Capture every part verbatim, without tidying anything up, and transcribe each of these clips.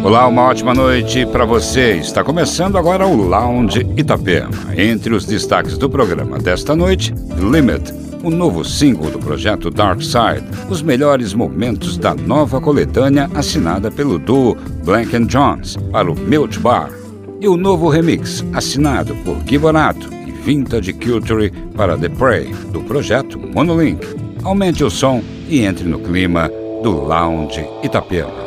Olá, uma ótima noite para você. Está começando agora o Lounge Itapema. Entre os destaques do programa desta noite, Limit, o novo single do projeto Dark Side, os melhores momentos da nova coletânea assinada pelo duo Blank and Jones para o Milk Bar, e o novo remix assinado por Gui Bonato e Vintage Culture para The Prey, do projeto Monolink. Aumente o som e entre no clima do Lounge Itapema.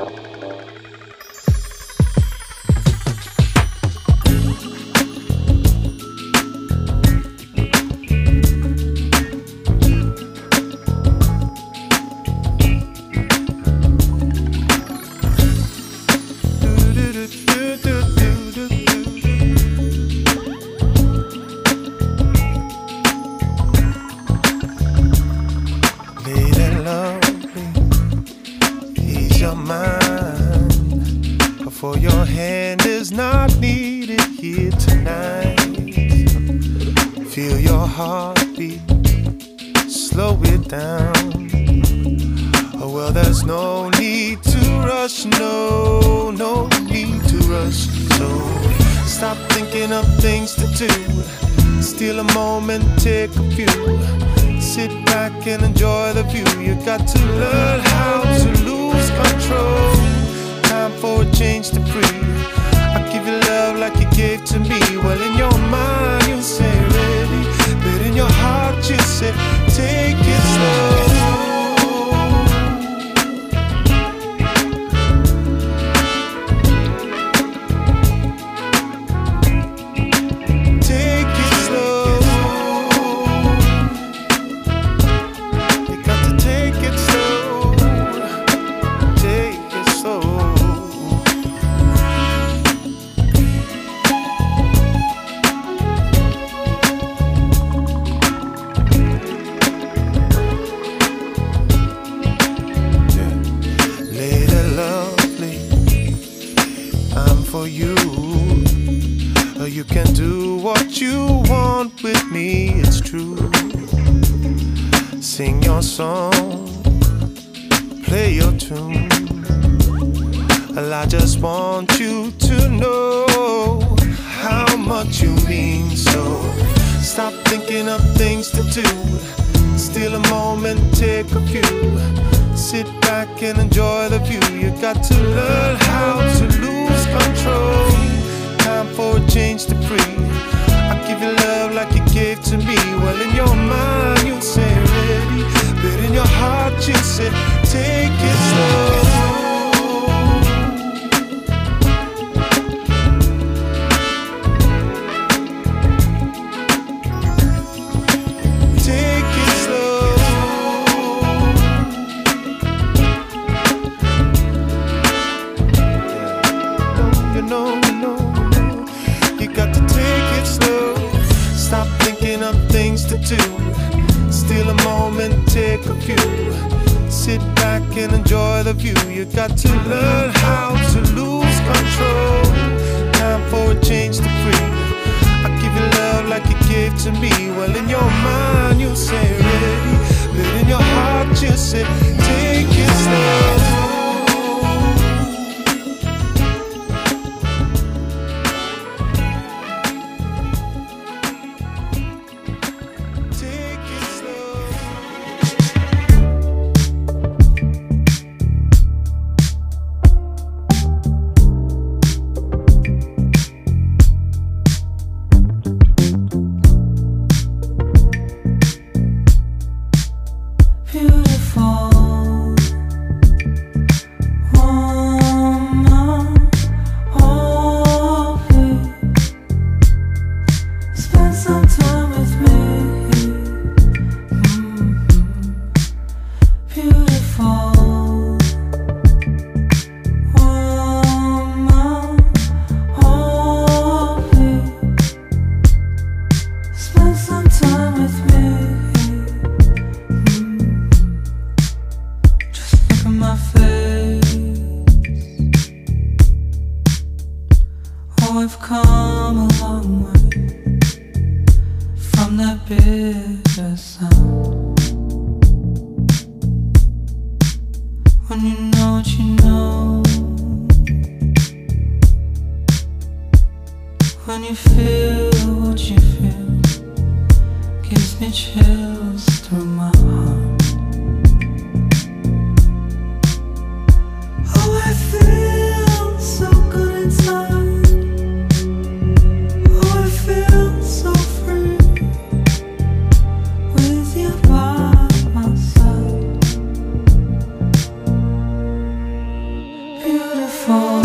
When you know what you know, you feel what you feel gives me chills through my heart. Oh, I feel so good inside. Oh, I feel so free with you by my side. Beautiful.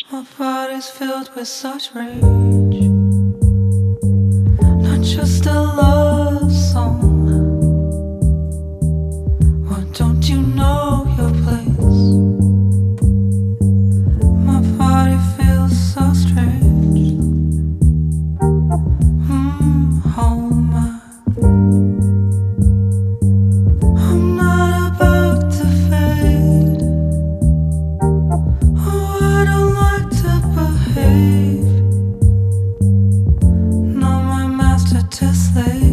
My body's filled with such rage. Not just a love song. Why don't you know your place? My body feels so strange. Mm, hold my. I'm not about to fade. Oh, I don't like to behave. No, my master to slave.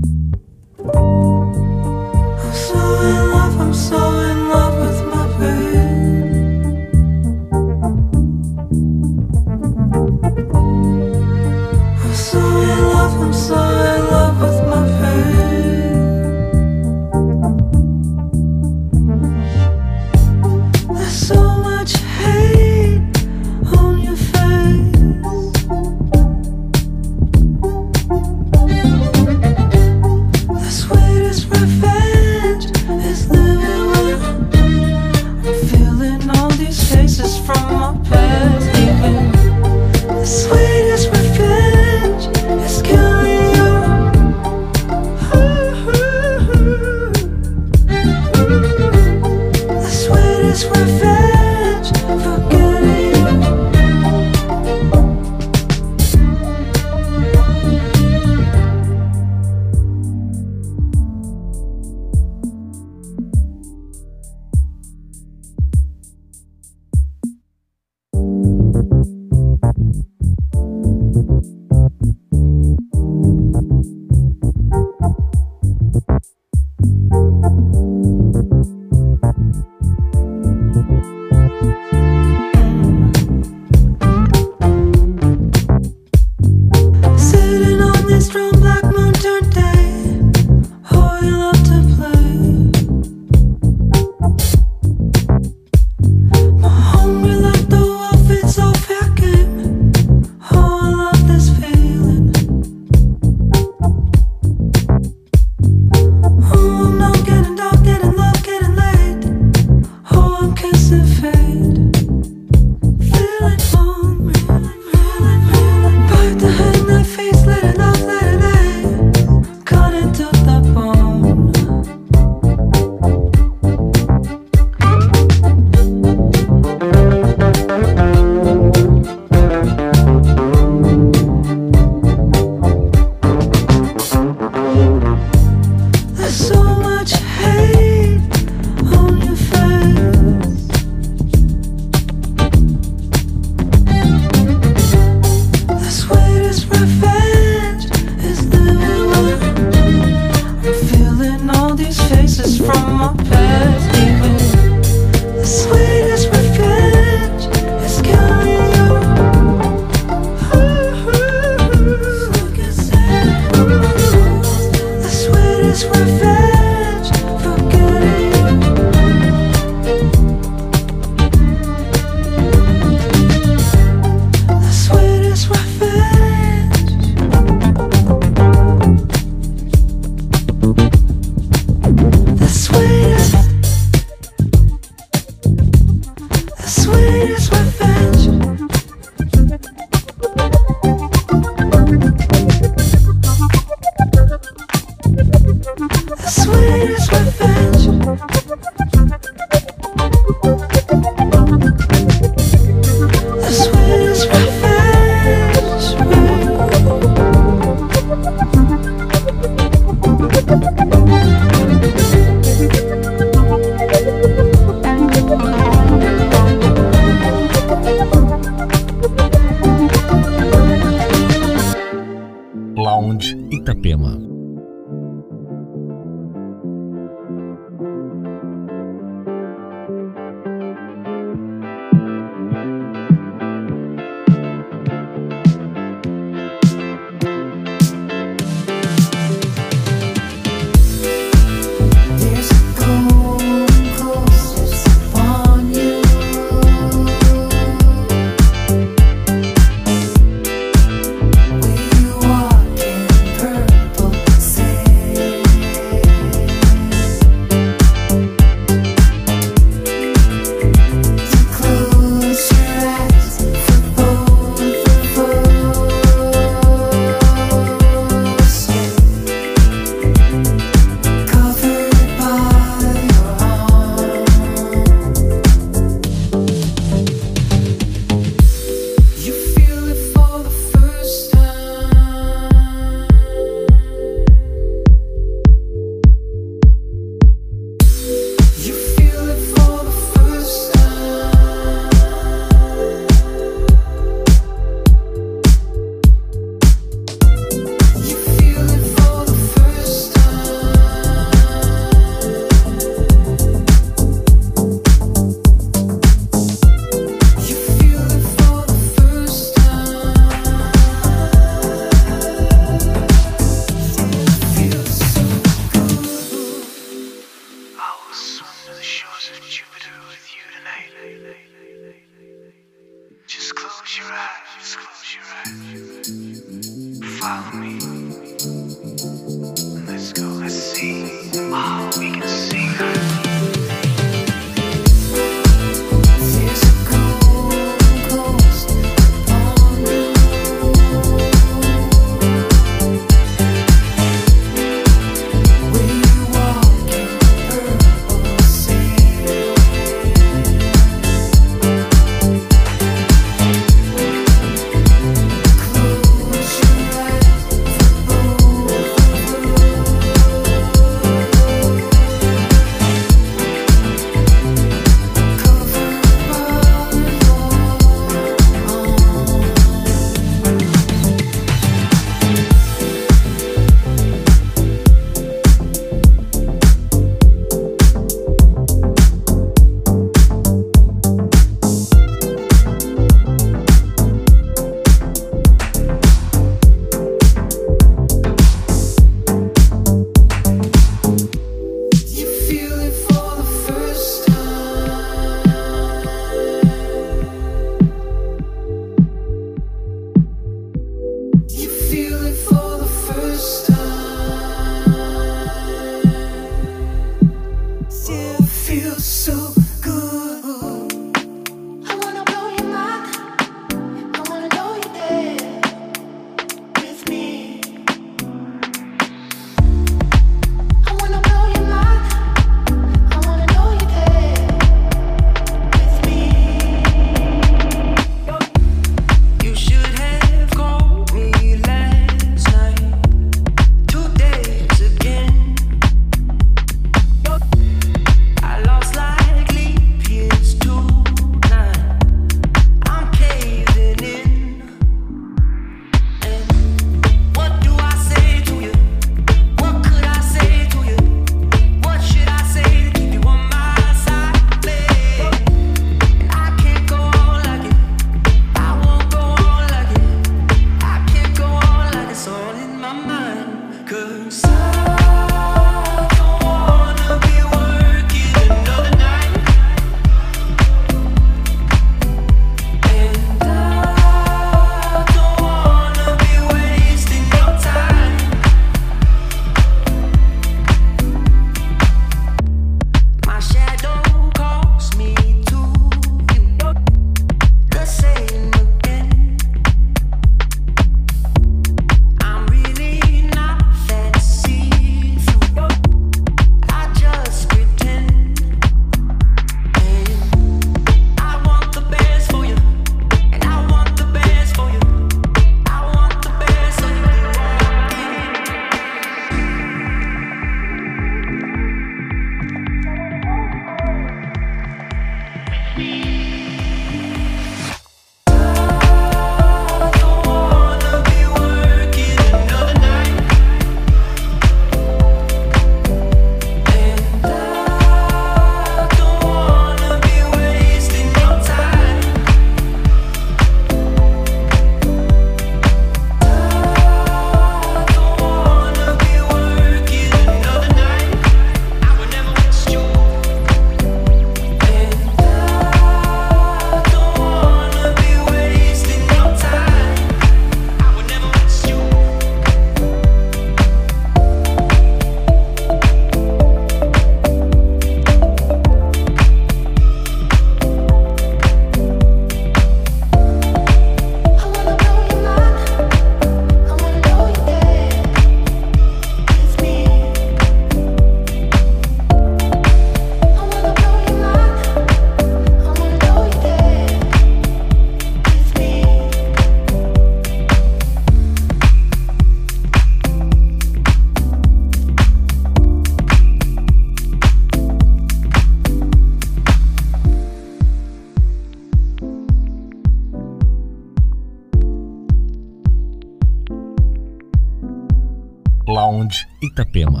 Lounge Itapema.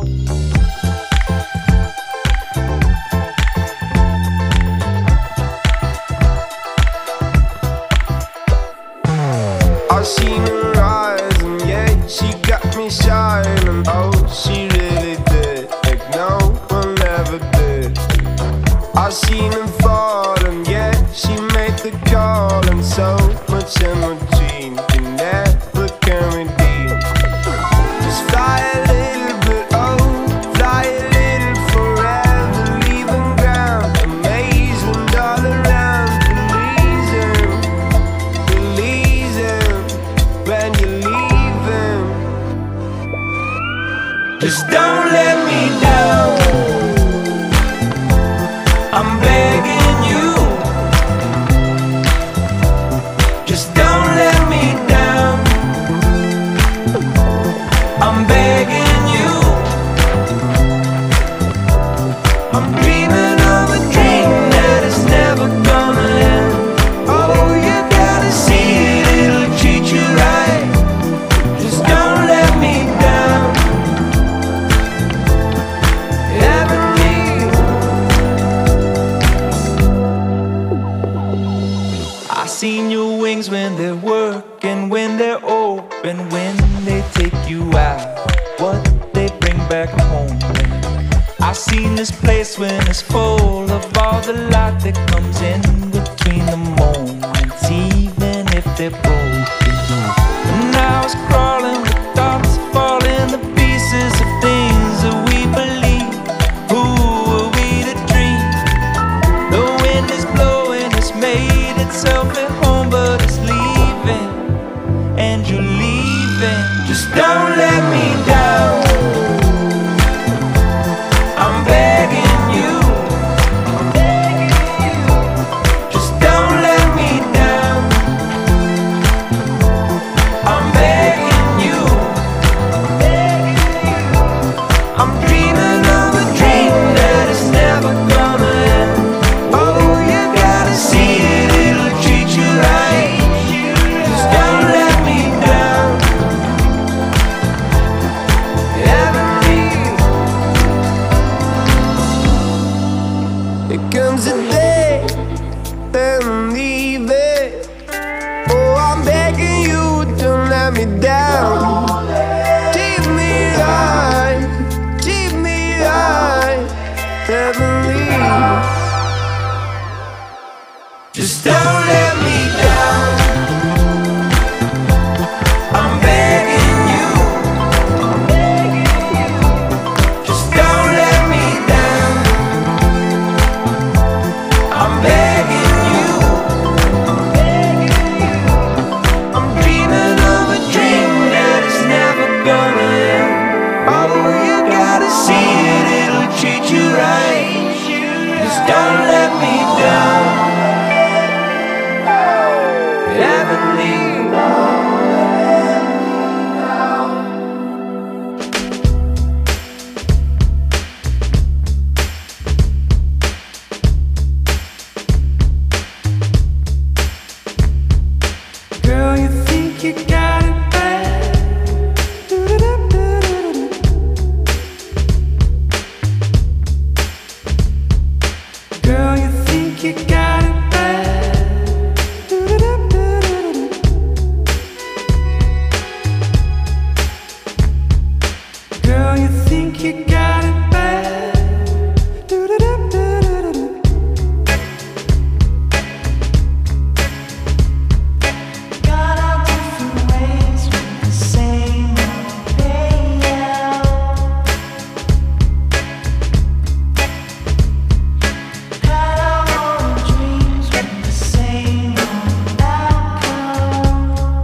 I've seen her eyes and yeah, she got me shining. Oh, she really did. Like no one ever did. seen her fall, and yet she made the call, and so much energy you never can redeem. Just fly a little bit, oh, fly a little forever, leaving ground, amazing all around. Believe him, believe him when you're leaving. Just don't let me down, I'm begging you. Just don't let me down, I'm begging you. I'm dreaming of a dream that is never gonna end. Oh, you gotta see it, it'll treat you right. Just don't let me down. Heavenly. I seen your wings when they're working, when they're open, when they take you out, what they bring back home. I seen this place when it's full of all the light that comes in between the moments, even if they're broken. And I was crawling with thoughts falling to pieces of things that we believe. Who are we to dream? The wind is blowing, it's made itself at home, but it's leaving, and you're leaving. Just don't let me down, I'm begging you. Just don't let me down, I'm begging you. I'm dreaming of a dream that is never gonna end. Oh, you gotta see it, it'll treat you right. Just don't let me down. Heavenly. There comes a day, then I'm leaving. Oh, I'm begging you, don't let me down. Keep me high, keep me high, heavenly. Just don't let me down, I'm begging you. Just don't let me down, I'm begging you. I'm dreaming of a dream that is never gonna end. Oh, you gotta see it, it'll treat you right. Just don't let me down. Heavenly. Girl, you think you got it bad. Girl, you think you got it bad. Girl, you think you got it bad. Got our different ways with the same old layout. Had our own dreams with the same old outcome.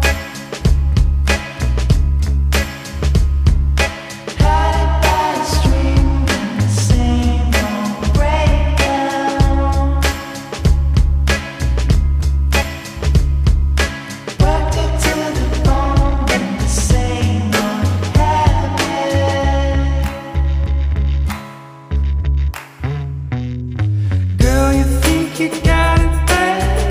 Had a bad stream with the same old breakdown. Worked it to the bone with the same old habit. Girl, you think you got it bad.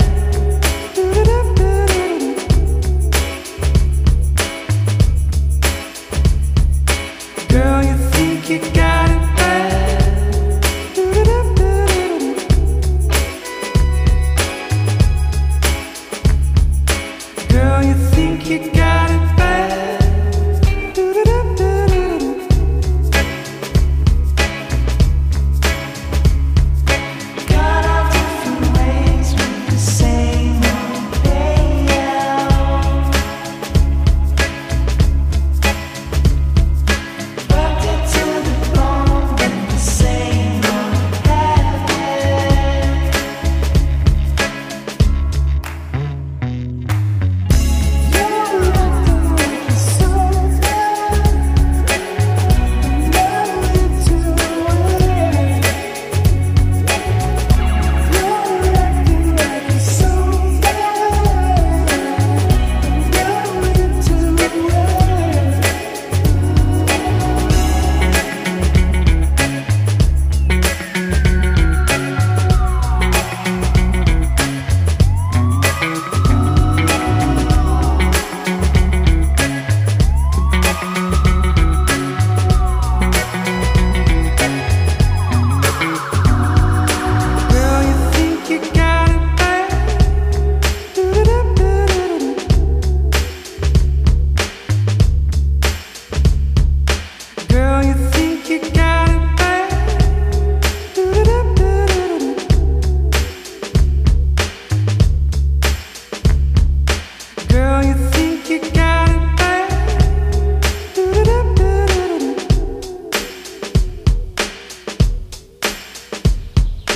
Girl, you think you got it bad. Girl, you think you got it bad. Got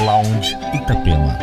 Lounge Itapema.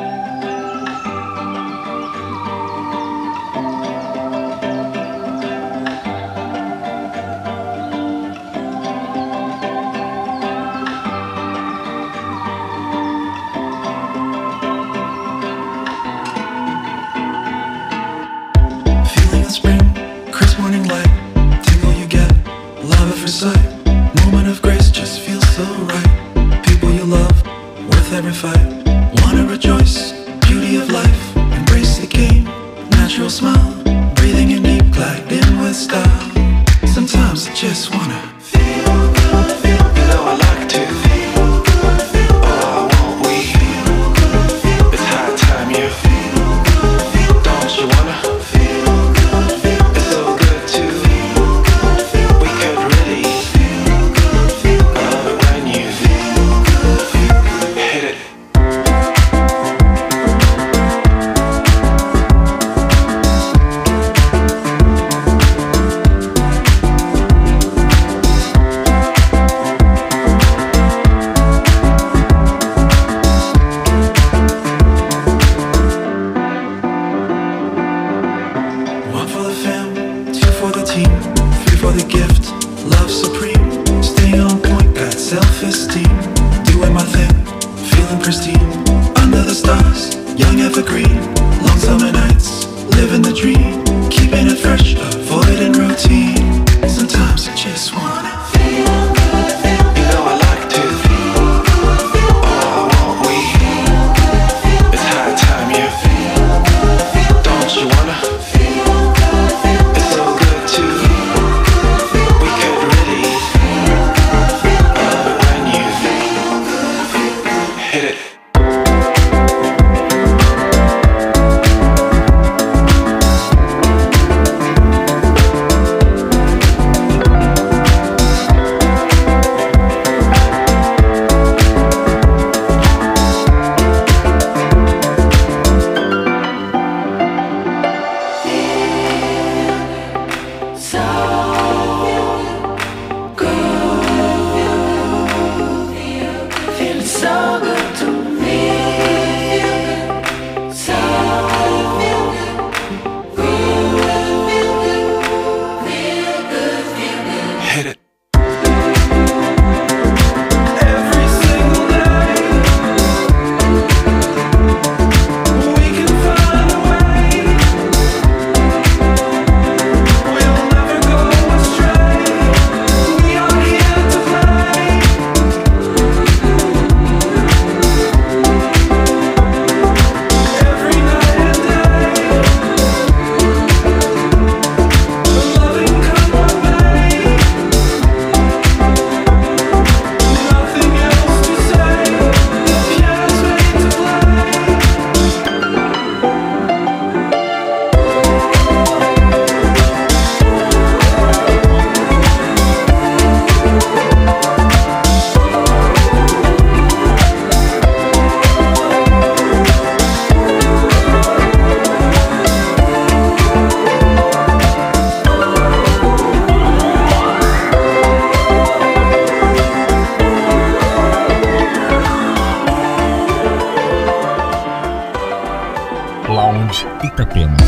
Lounge Itapema.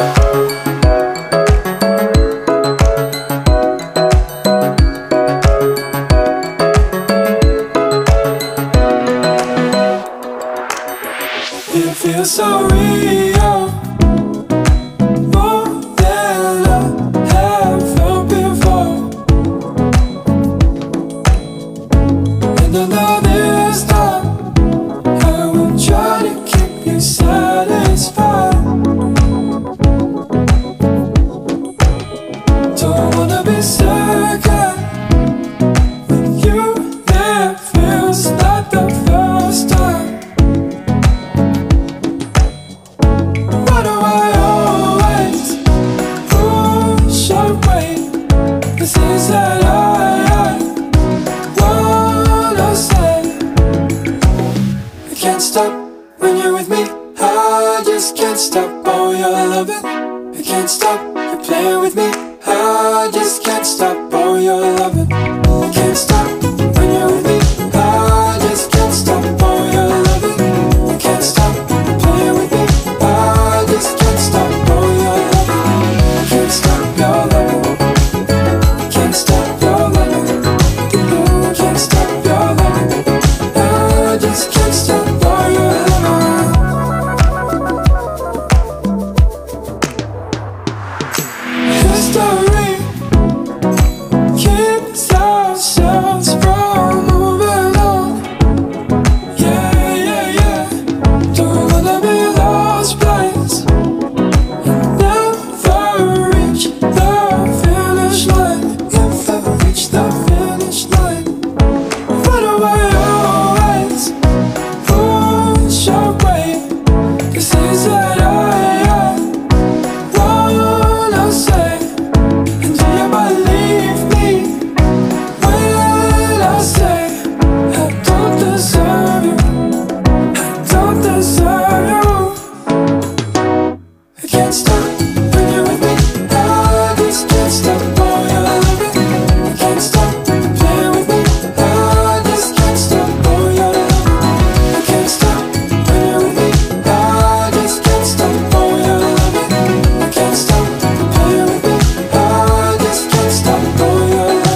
It feels so real, more than I have felt before. And I know this time I will try to keep you satisfied. Don't wanna be second with you. That feels like the first time. Why do I always push away the things that I, I wanna say? I can't stop when you're with me. I just can't stop all your loving. I can't stop you playing with me. I just can't stop all your loving. I can't stop when you're with me. I just can't stop all your loving. just can't stop all your loving. History keeps ourselves from moving on. Yeah, yeah, yeah. Don't wanna be lost place and never reach the finish line. Never reach the finish line. Why do I always push away the things that I, I wanna say? And do you believe me when I say I don't deserve you? I don't deserve you. I can't stop when you're with me. I just can't stop all your loving. I can't stop playing with me. I just can't stop all your loving. I can't stop when you're with me. I just can't stop all your loving. I can't stop playing with me. I just can't stop all your loving.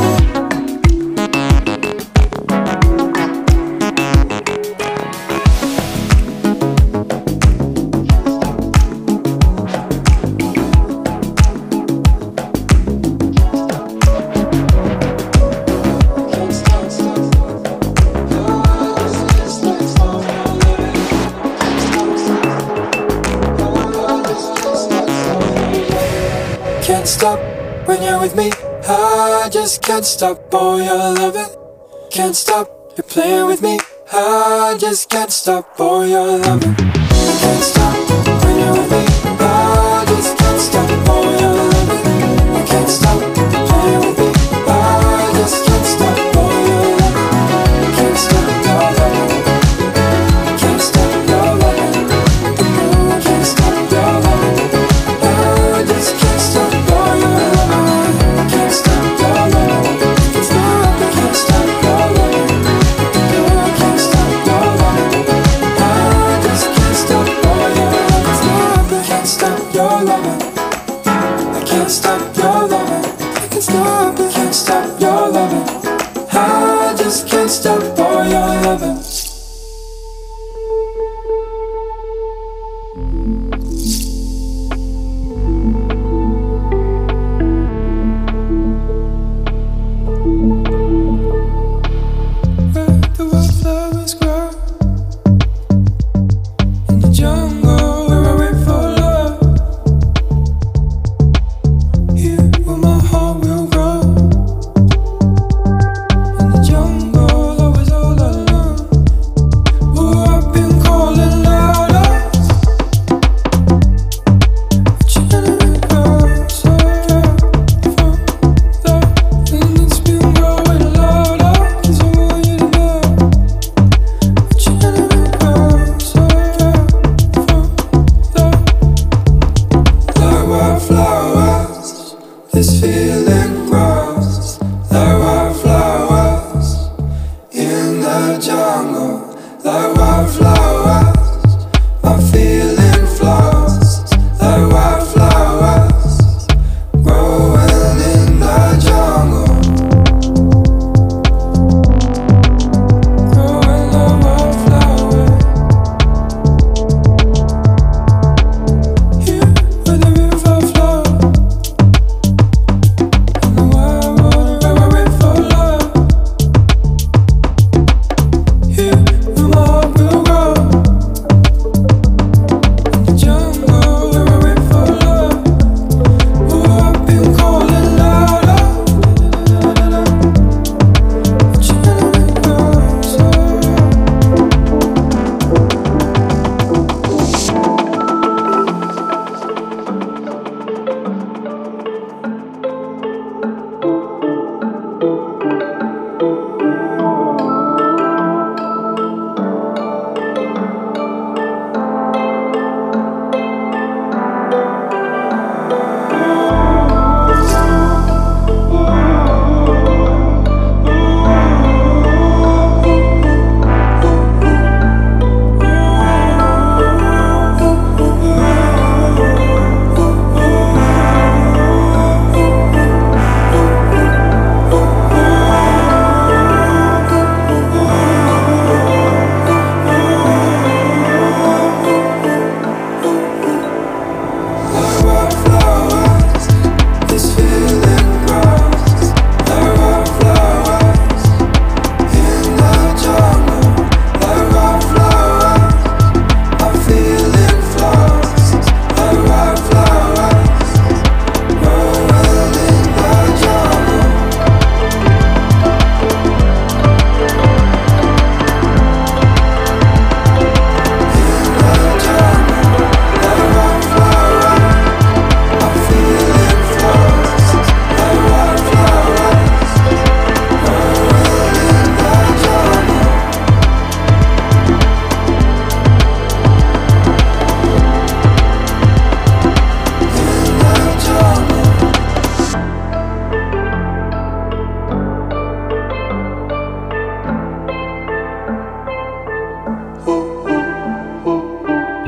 Can't stop when you're with me. I just can't stop all your loving. Can't stop, you're playing with me. I just can't stop all your loving. Can't stop when you're with me. I just can't stop all your loving. Can't stop, you're playing with me. I just can't stop all your loving. Can't stop your loving. Can't stop your loving. Can't stop your loving. I just can't stop all your loving. Can't stop your loving. It's not, I can't stop your loving. I can't stop your loving. I just can't stop all your loving.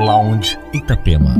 Lounge Itapema.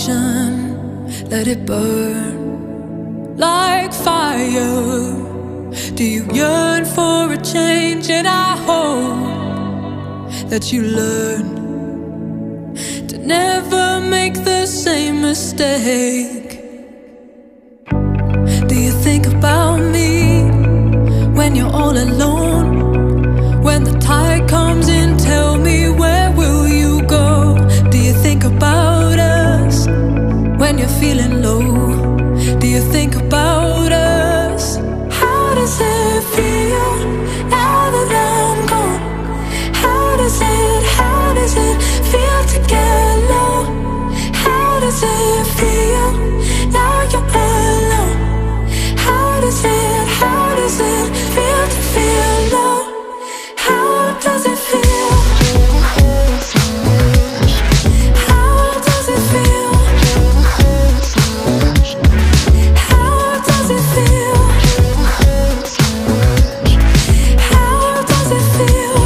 let it burn like fire. Do you yearn for a change? And I hope that you learn to never make the same mistake. Do you think about me when you're all alone? When the tide comes in, tell me, where will you go? Do you think about us when you're feeling low? Do you think about us? How does it feel now that I'm gone? How does it, how does it feel to get low? How does it feel now you're alone? How does it, how does it feel to feel low? How does it feel? How does it feel? How does it feel? How does it feel?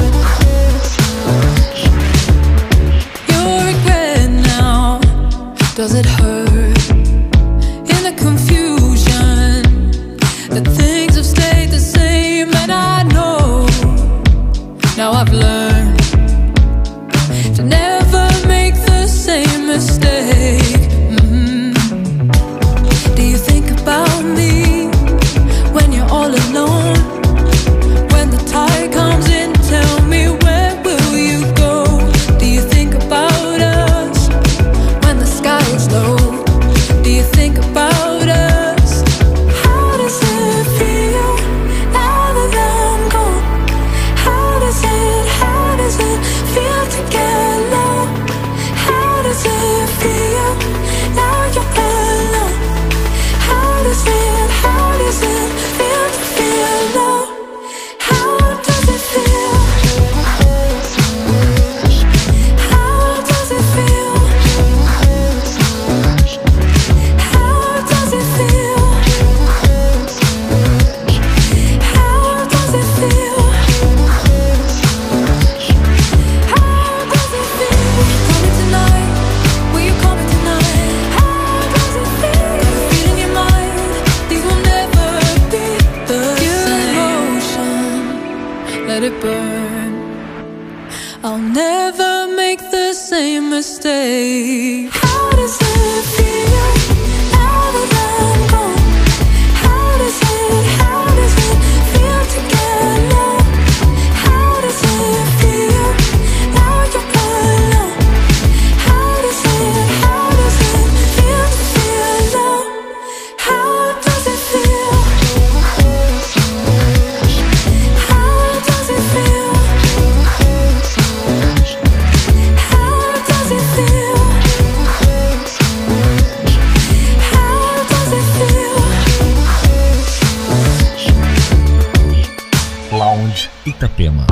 Your regret now, does it hurt? In the confusion, that things have stayed the same, and I know now I've learned to never make the same mistake. Mm-hmm. Do you think about me when you're all alone? When the tide comes in, tell me, where will you go? Do you think about us when the sky is low? Do you think about us? How does it feel now that I'm gone? How does it, how does it feel to get low? How does it feel now you're alone? How does it, how does it feel to feel low? How does it feel? How does it feel? How does it feel? How does it feel? How does it feel? Coming tonight? Will you call me tonight? How does it feel? Got a feel in your mind, things will never be the same. Emotion, let it burn. I'll never make the same mistake. How does it feel now that I'm gone? How does it, how does it feel to get low? How does it feel now you're alone? How does it, how does it feel to feel low? How does it feel? How does it feel? How does it feel? How does it feel? Lounge Itapema.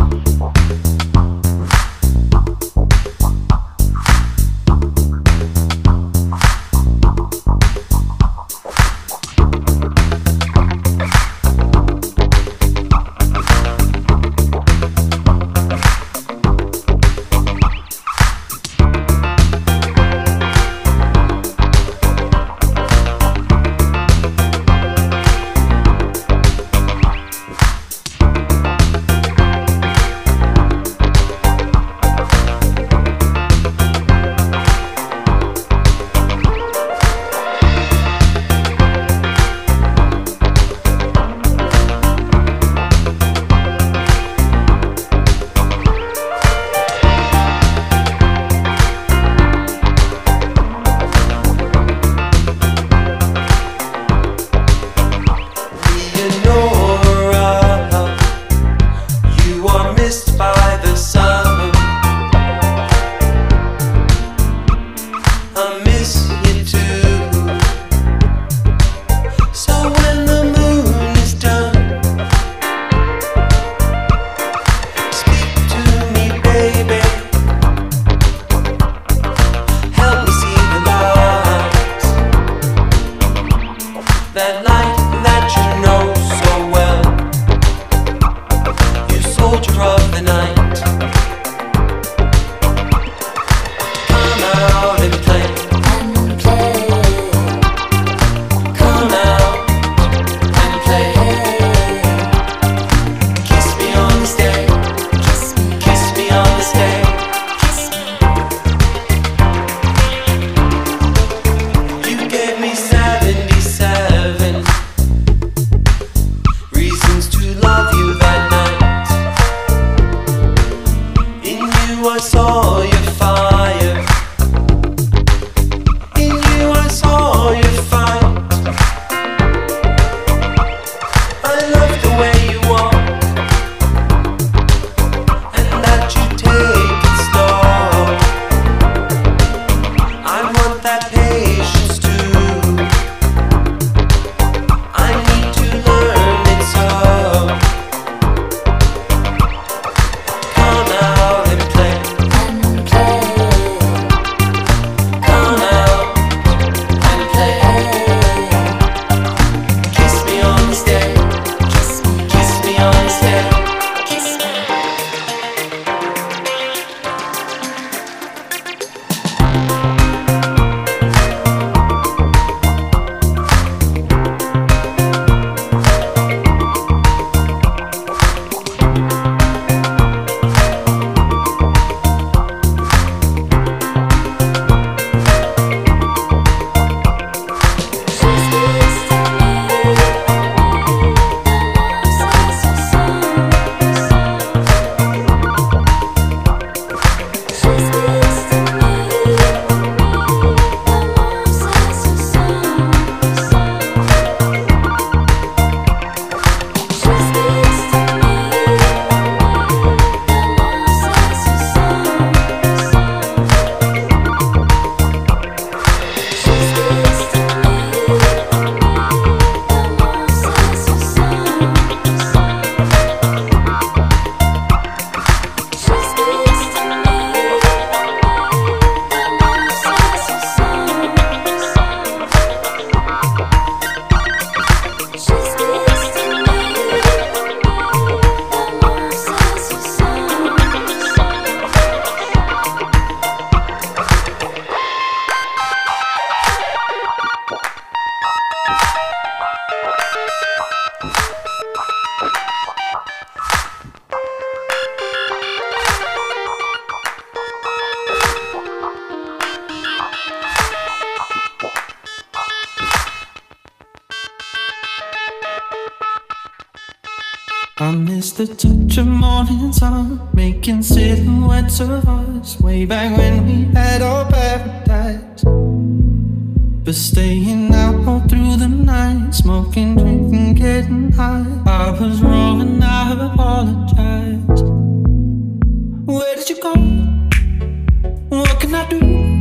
I miss the touch of morning sun, making silhouettes of us, way back when we had our paradise. But staying out all through the night, smoking, drinking, getting high. I was wrong and I apologize. Where did you go? What can I do?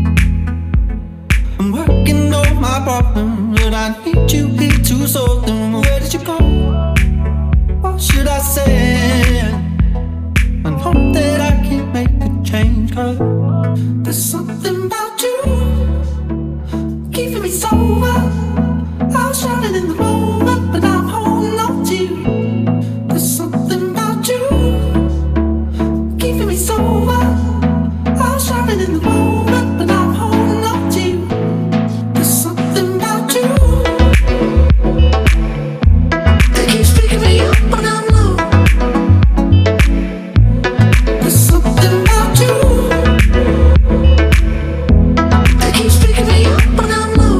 I'm working on my problem, but I need you here to solve them. Where did you go? What should I say? And hope that I can make a change, 'cause there's something about you keeping me sober. I was shouting in the moment, but I'm holding on to you. There's something about you keeping me sober. I was shouting in the moment, but I'm holding on to you. There's something about you that keeps picking me up when I'm low. There's something about you that keeps picking me up when I'm low.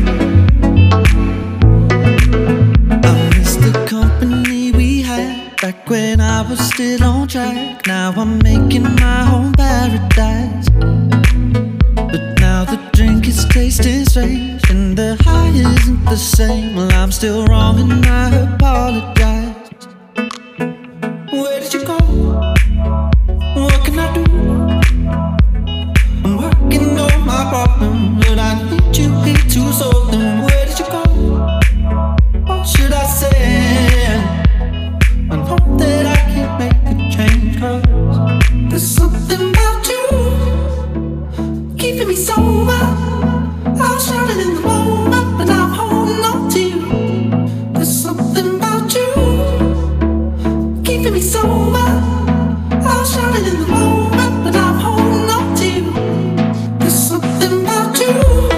I miss the company we had back when I was still on track. Now I'm making my own paradise. But now the drink is tasting strange and the high isn't the same. Well, I'm still wrong and I apologize. Where did you go? What can I do? I'm working on my problem, but I need you here to solve them. Where did you go? What should I say? And hope that I can make a change, 'cause there's something about you keeping me sober. I was shouting in the moment, but I'm holding on to you. There's something about you keeping me sober. I was shouting in the moment, but I'm holding on to you. There's something about you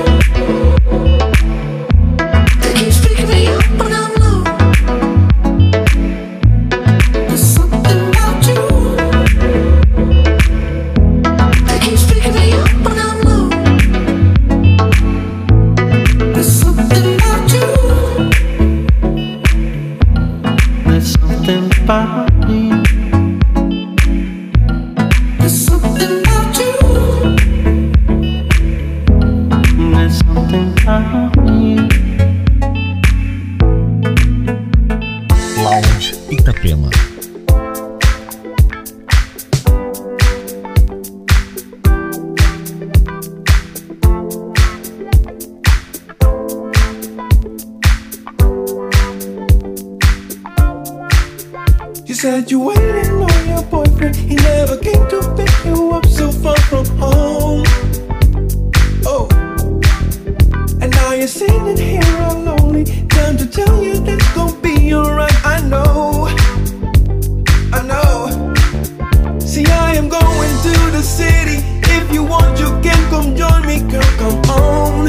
that keeps picking me up when I'm low. There's something about you that keeps picking me up when I'm low. There's something about you. There's something about me. There's something about you. There's something about me. Lounge Itapema. You said you waited on your boyfriend. He never came to pick you up so far from home. Oh, and now you're sitting here all lonely. Time to tell you that's gonna be alright. I know, I know. See, I am going to the city. If you want, you can come join me, girl. Come on.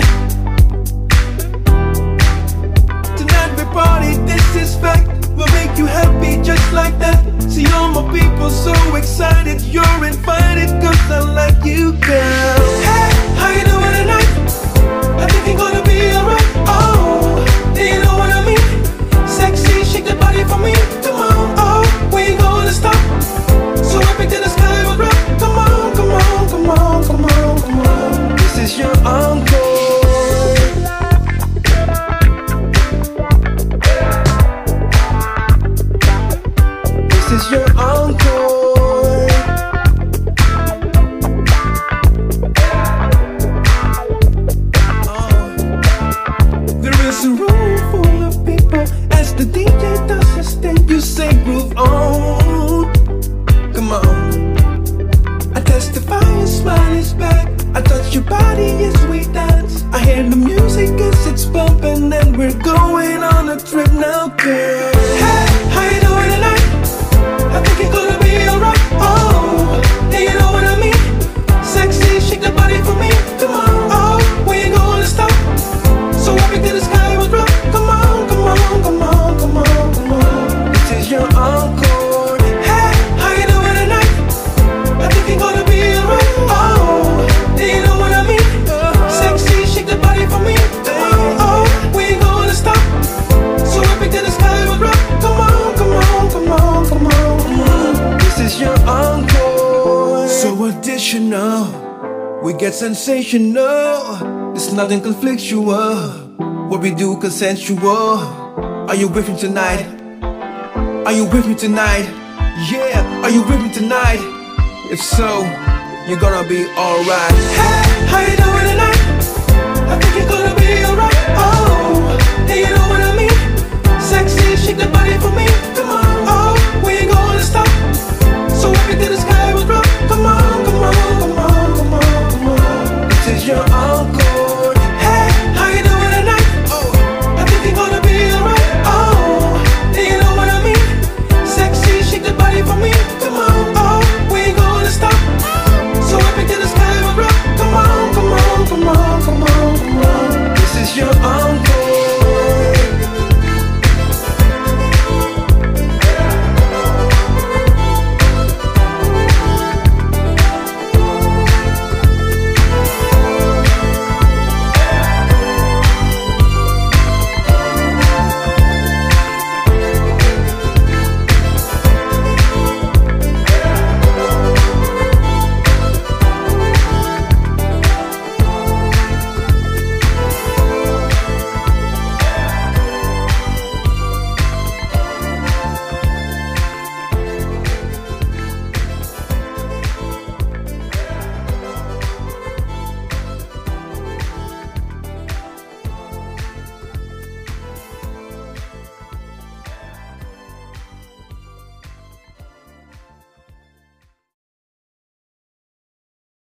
Tonight we party. This is fact. We'll make you happy just like that. See all my people so excited. You're invited 'cause I like you, girl. Hey, how you doing tonight? I think you're gonna be alright. Oh, do you know what I mean? Sexy, shake that body for me. Come on, oh, we ain't gonna stop. So up into the sky we'll rock. Come on, come on, come on, come on, come on. This is your uncle. This is your encore. Oh. There is a room full of people. As the D J does his thing, you say groove on. Come on. I testify your smile is back. I touch your body as we dance. I hear the music as it's bumping, and we're going on a trip now, girl. Hey, how you doing tonight? I think you're gonna be alright. Oh, yeah, you know what I mean? Sexy, shake the body for me. Come on, oh, we ain't gonna stop. So up into the sky we'll drop. Come on, come on, come on, come on, come on. This is your encore. Hey, how you doing tonight? I think you're gonna be alright. Oh, yeah, you know what I mean? Sexy, shake the body for me. Come on, oh, we ain't gonna stop. So up into the sky we'll get sensational. It's nothing conflictual. What we do consensual. Are you with me tonight? Are you with me tonight? Yeah, are you with me tonight? If so, you're gonna be alright. Hey, how you doing tonight? I think you're gonna be alright. Oh, hey, you know